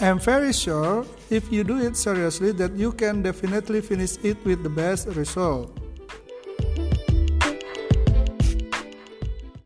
I'm very sure if you do it seriously that you can definitely finish it with the best result.